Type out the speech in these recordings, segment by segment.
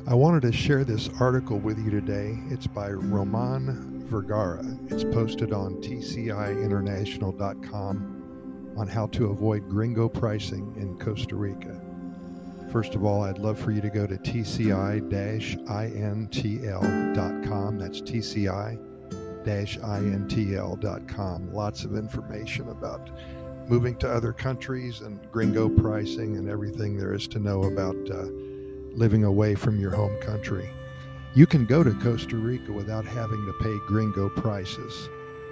I wanted to share this article with you today. It's by Roman Vergara. It's posted on tciinternational.com on how to avoid gringo pricing in Costa Rica. First of all, I'd love for you to go to tci-intl.com. That's tci-intl.com. Lots of information about moving to other countries and gringo pricing and everything there is to know about living away from your home country. You can go to Costa Rica without having to pay gringo prices.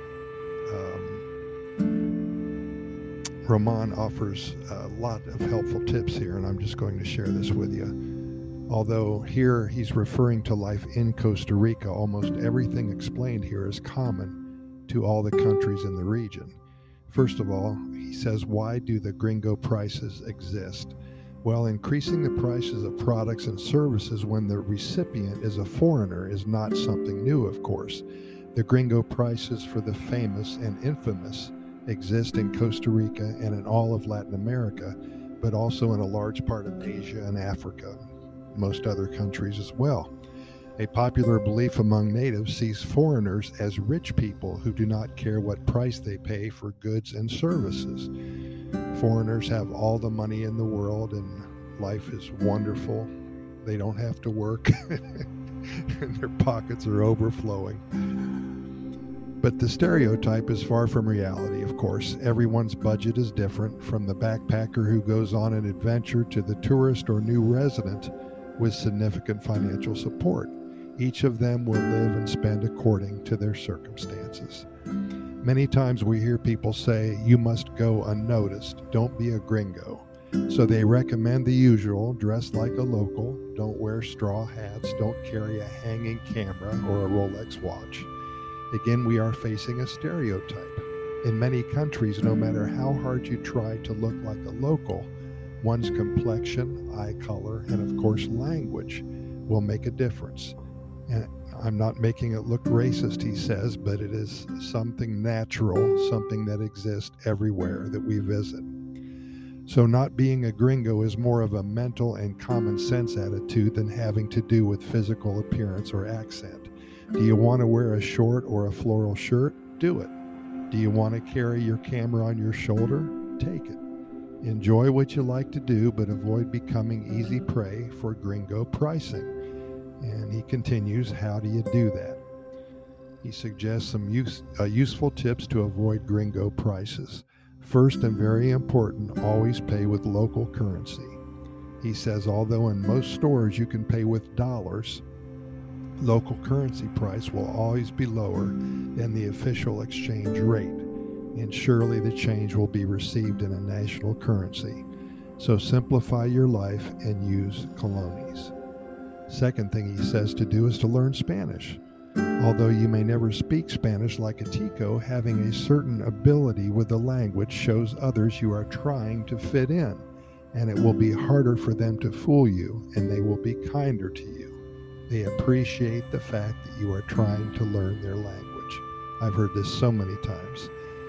Roman offers a lot of helpful tips here, and I'm just going to share this with you. Although here he's referring to life in Costa Rica, almost everything explained here is common to all the countries in the region. First of all, he says, why do the gringo prices exist? Well, increasing the prices of products and services when the recipient is a foreigner is not something new, of course. The gringo prices for the famous and infamous exist in Costa Rica and in all of Latin America, but also in a large part of Asia and Africa, most other countries as well. A popular belief among natives sees foreigners as rich people who do not care what price they pay for goods and services. Foreigners have all the money in the world and life is wonderful. They don't have to work and their pockets are overflowing. But the stereotype is far from reality, of course. Everyone's budget is different, from the backpacker who goes on an adventure to the tourist or new resident with significant financial support. Each of them will live and spend according to their circumstances. Many times we hear people say, you must go unnoticed, don't be a gringo. So they recommend the usual: dress like a local, don't wear straw hats, don't carry a hanging camera or a Rolex watch. Again, we are facing a stereotype. In many countries, no matter how hard you try to look like a local, one's complexion, eye color, and of course language will make a difference. And I'm not making it look racist, he says, but it is something natural, something that exists everywhere that we visit. So not being a gringo is more of a mental and common sense attitude than having to do with physical appearance or accent. Do you want to wear a short or a floral shirt? Do it. Do you want to carry your camera on your shoulder? Take it. Enjoy what you like to do, but avoid becoming easy prey for gringo pricing. And he continues, how do you do that? He suggests some useful tips to avoid gringo prices. First, and very important, always pay with local currency. He says, although in most stores you can pay with dollars, local currency price will always be lower than the official exchange rate, and surely the change will be received in a national currency. So simplify your life and use colones. Second thing he says to do is to learn Spanish. Although you may never speak Spanish like a Tico, having a certain ability with the language shows others you are trying to fit in, and it will be harder for them to fool you, and they will be kinder to you. They appreciate the fact that you are trying to learn their language. I've heard this so many times.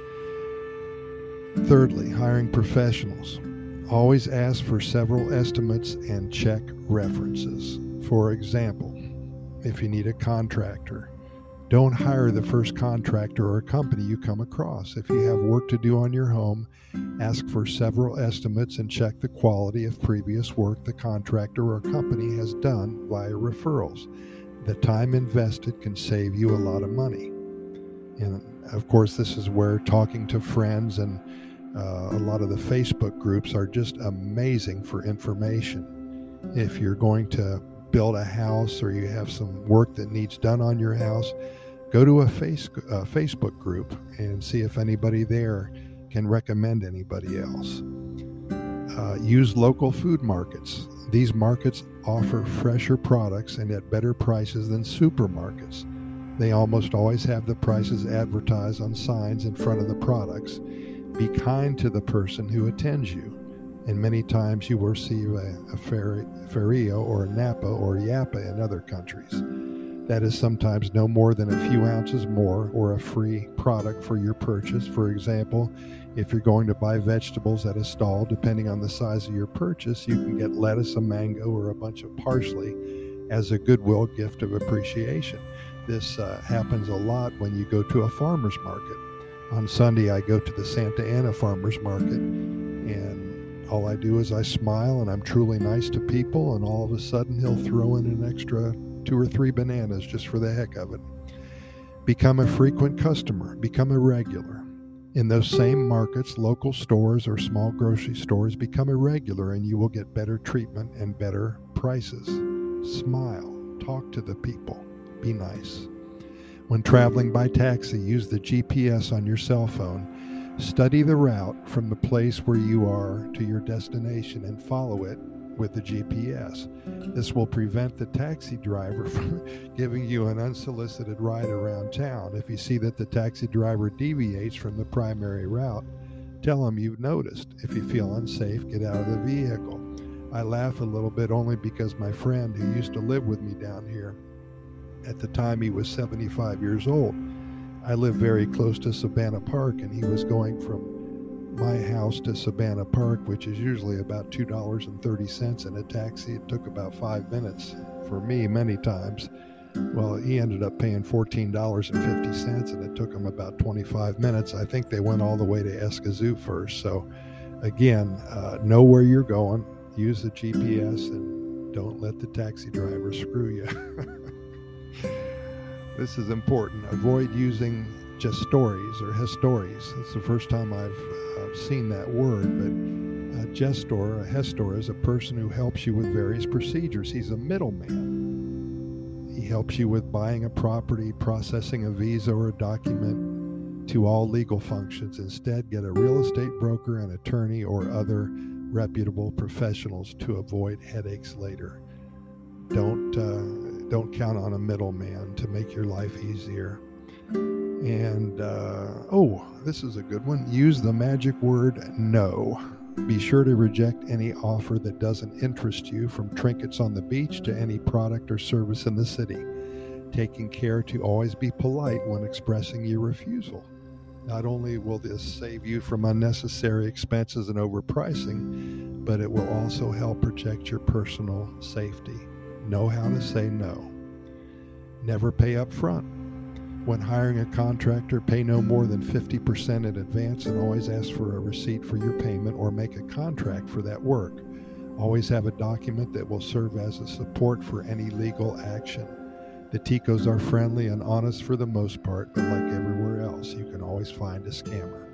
Thirdly, hiring professionals. Always ask for several estimates and check references. For example, if you need a contractor, don't hire the first contractor or company you come across. If you have work to do on your home, ask for several estimates and check the quality of previous work the contractor or company has done via referrals. The time invested can save you a lot of money. And of course, this is where talking to friends and a lot of the Facebook groups are just amazing for information. If you're going to build a house or you have some work that needs done on your house, go to a Facebook group and see if anybody there can recommend anybody else. Use local food markets. These markets offer fresher products and at better prices than supermarkets. They almost always have the prices advertised on signs in front of the products. Be kind to the person who attends you, and many times you will receive a Ferio or a Napa or Yappa in other countries. That is sometimes no more than a few ounces more or a free product for your purchase. For example, if you're going to buy vegetables at a stall, depending on the size of your purchase, you can get lettuce, a mango, or a bunch of parsley as a goodwill gift of appreciation. This happens a lot when you go to a farmer's market. On Sunday, I go to the Santa Ana Farmer's Market, and all I do is I smile and I'm truly nice to people, and all of a sudden he'll throw in an extra 2 or 3 bananas just for the heck of it. Become a frequent customer. Become a regular. In those same markets, local stores or small grocery stores, become a regular and you will get better treatment and better prices. Smile. Talk to the people. Be nice. When traveling by taxi, use the GPS on your cell phone. Study the route from the place where you are to your destination and follow it with the GPS. This will prevent the taxi driver from giving you an unsolicited ride around town. If you see that the taxi driver deviates from the primary route, tell him you've noticed. If you feel unsafe, get out of the vehicle. I laugh a little bit only because my friend who used to live with me down here, at the time he was 75 years old. I live very close to Savannah Park, and he was going from my house to Savannah Park, which is usually about $2.30 in a taxi. It took about 5 minutes for me many times. Well, he ended up paying $14.50, and it took him about 25 minutes. I think they went all the way to Escazú first. So again, know where you're going, use the GPS, and don't let the taxi driver screw you. This is important. Avoid using just stories or hestories. It's the first time I've seen that word, but a gestor, a hestor, is a person who helps you with various procedures. He's a middleman. He helps you with buying a property, processing a visa or a document, to all legal functions. Instead, get a real estate broker, an attorney, or other reputable professionals to avoid headaches later. Don't count on a middleman to make your life easier. And, this is a good one. Use the magic word no. Be sure to reject any offer that doesn't interest you, from trinkets on the beach to any product or service in the city. Taking care to always be polite when expressing your refusal. Not only will this save you from unnecessary expenses and overpricing, but it will also help protect your personal safety. Know how to say no. Never pay up front. When hiring a contractor, pay no more than 50% in advance, and always ask for a receipt for your payment or make a contract for that work. Always have a document that will serve as a support for any legal action. The Ticos are friendly and honest for the most part, but like everywhere else, you can always find a scammer.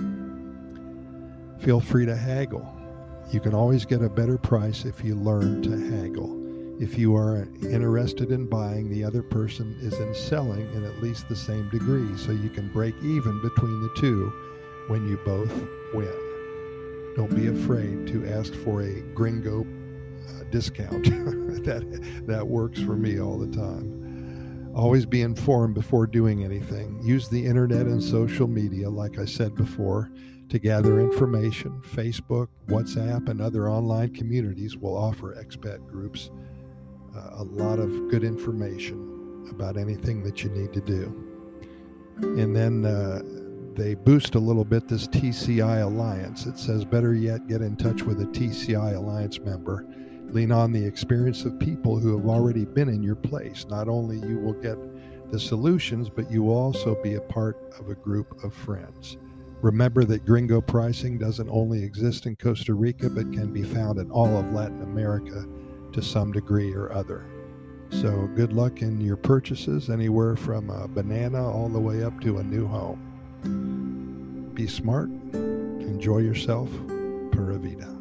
Feel free to haggle. You can always get a better price if you learn to haggle. If you are interested in buying, the other person is in selling in at least the same degree, so you can break even between the two when you both win. Don't be afraid to ask for a gringo discount. that works for me all the time. Always be informed before doing anything. Use the internet and social media, like I said before, to gather information. Facebook, WhatsApp, and other online communities will offer expat groups a lot of good information about anything that you need to do. And then they boost a little bit this TCI Alliance. It says, better yet, get in touch with a TCI Alliance member. Lean on the experience of people who have already been in your place. Not only you will get the solutions, but you will also be a part of a group of friends. Remember that gringo pricing doesn't only exist in Costa Rica, but can be found in all of Latin America to some degree or other. So good luck in your purchases, anywhere from a banana all the way up to a new home. Be smart, enjoy yourself, Pura Vida.